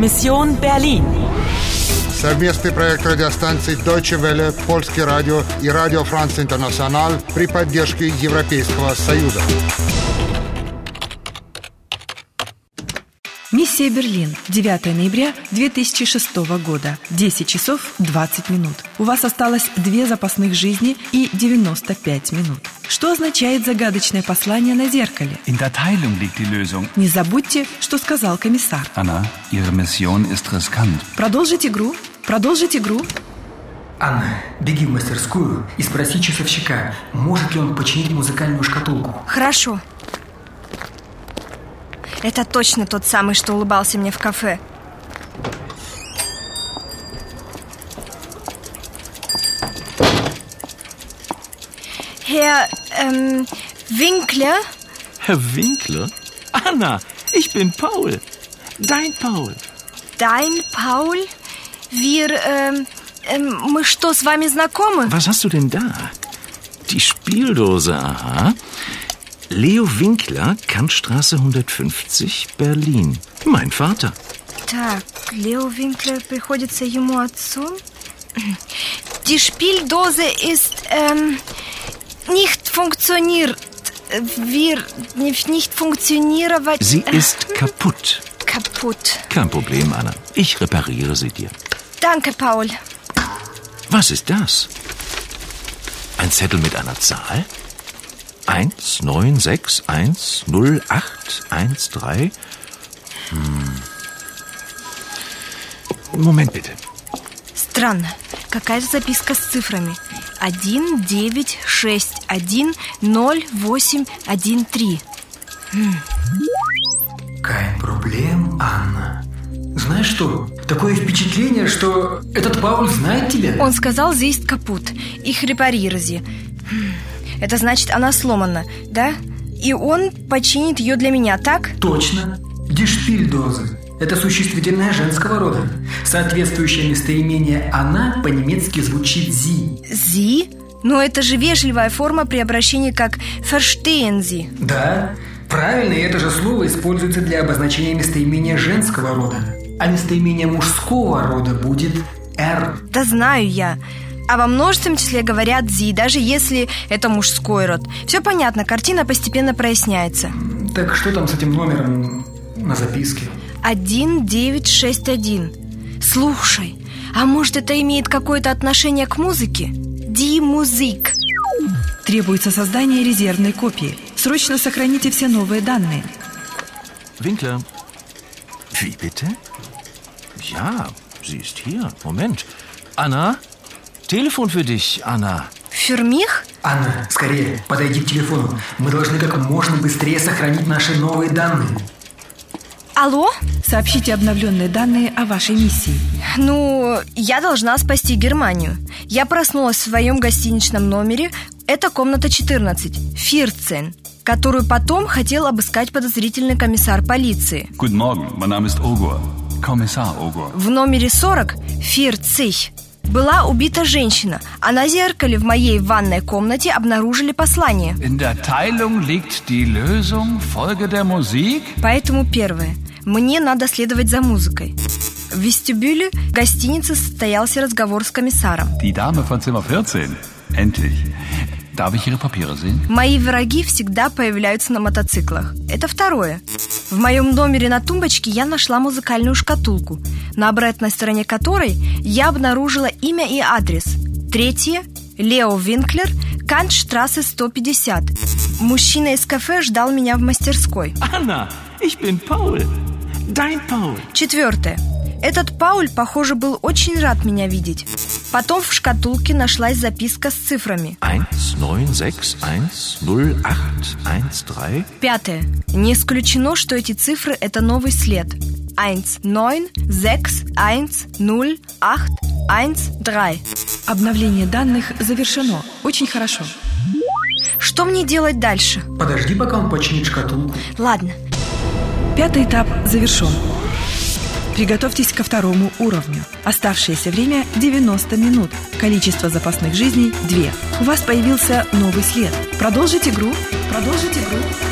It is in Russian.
Mission Berlin. Совместный проект радиостанций Deutsche Welle, Польский радио и Радио Франц Интернационал при поддержке Европейского Союза. Миссия Берлин. 9 ноября 2006 года. 10 часов 20 минут. У вас осталось 2 запасных жизни и 95 минут. Что означает загадочное послание на зеркале? In der Teilung liegt die Lösung. Не забудьте, что сказал комиссар. Anna, Ihre Mission ist riskant. Продолжить игру. Продолжить игру. Анна, беги в мастерскую и спроси часовщика, может ли он починить музыкальную шкатулку. Хорошо. Это точно тот самый, что улыбался мне в кафе. Herr Winkler? Herr Winkler? Anna, ich bin Paul. Dein Paul. Dein Paul? Мы что, с вами знакомы? Was hast du denn da? Die Spieldose, aha. Leo Winkler, Kantstraße 150, Berlin. Mein Vater. Так, Leo Winkler приходится ему отцом. Die Spieldose ist nicht funktioniert. Nicht funktionierend. Sie ist kaputt. Kaputt. Kein Problem, Anna. Ich repariere sie dir. Danke, Paul. Was ist das? Ein Zettel mit einer Zahl? 19610813. Moment bitte. Странно. Какая-то записка с цифрами. 19610813. Kein Problem, Анна. Знаешь что? Такое впечатление, что этот Пауль знает тебя. Он сказал, sie ist kaputt. Ich repariere sie. Это значит, она сломана, да? И он починит ее для меня, так? Точно. Die Spieldose. Это существительное женского рода. Соответствующее местоимение «она» по-немецки звучит «sie». «Sie»? Но это же вежливая форма при обращении как «verstehen Sie». Да, правильно, и это же слово используется для обозначения местоимения женского рода. А местоимение мужского рода будет «er». Да знаю я. А во множественном числе говорят «sie», даже если это мужской род. Все понятно, картина постепенно проясняется. Так что там с этим номером на записке? 1961. Слушай, а может это имеет какое-то отношение к музыке? Die Musik. Требуется создание резервной копии. Срочно сохраните все новые данные. Winkler. Wie bitte? Ja, sie ist hier. Moment. Anna? Telefon für dich, Anna. Für mich? Анна, скорее, подойди к телефону. Мы должны как можно быстрее сохранить наши новые данные. Алло? Сообщите обновленные данные о вашей миссии. Я должна спасти Германию. Я проснулась в своем гостиничном номере. Это комната 14, 14, которую потом хотел обыскать подозрительный комиссар полиции. Guten Morgen, mein Name ist Ogur. Kommissar Ogur. В номере 40, 40, была убита женщина, а на зеркале в моей ванной комнате обнаружили послание. In der Teilung liegt die Lösung, Folge der Musik. Поэтому первое. Мне надо следовать за музыкой. В вестибюле гостиницы состоялся разговор с комиссаром. Die Dame von Zimmer 14. Endlich. Darf ich Ihre Papiere sehen? Мои враги всегда появляются на мотоциклах. Это второе. В моем номере на тумбочке я нашла музыкальную шкатулку, на обратной стороне которой я обнаружила имя и адрес. Третье. Лео Винклер, Кантштрассе 150. Мужчина из кафе ждал меня в мастерской. Anna, ich bin Paul. Dein Paul. Четвертое. Этот Пауль, похоже, был очень рад меня видеть. Потом в шкатулке нашлась записка с цифрами. 19610813. Пятое. Не исключено, что эти цифры – это новый след. 19610813. Обновление данных завершено. Очень хорошо. Что мне делать дальше? Подожди, пока он починит шкатулку. Ладно. 5-й этап завершен. Приготовьтесь ко второму уровню. Оставшееся время 90 минут. Количество запасных жизней 2. У вас появился новый след. Продолжить игру. Продолжить игру.